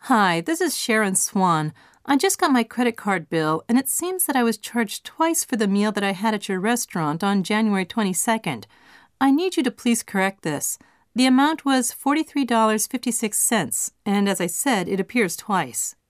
Hi, this is Sharon Swan. I just got my credit card bill, and it seems that I was charged twice for the meal that I had at your restaurant on January 22nd. I need you to please correct this. The amount was $43.56, and as I said, it appears twice.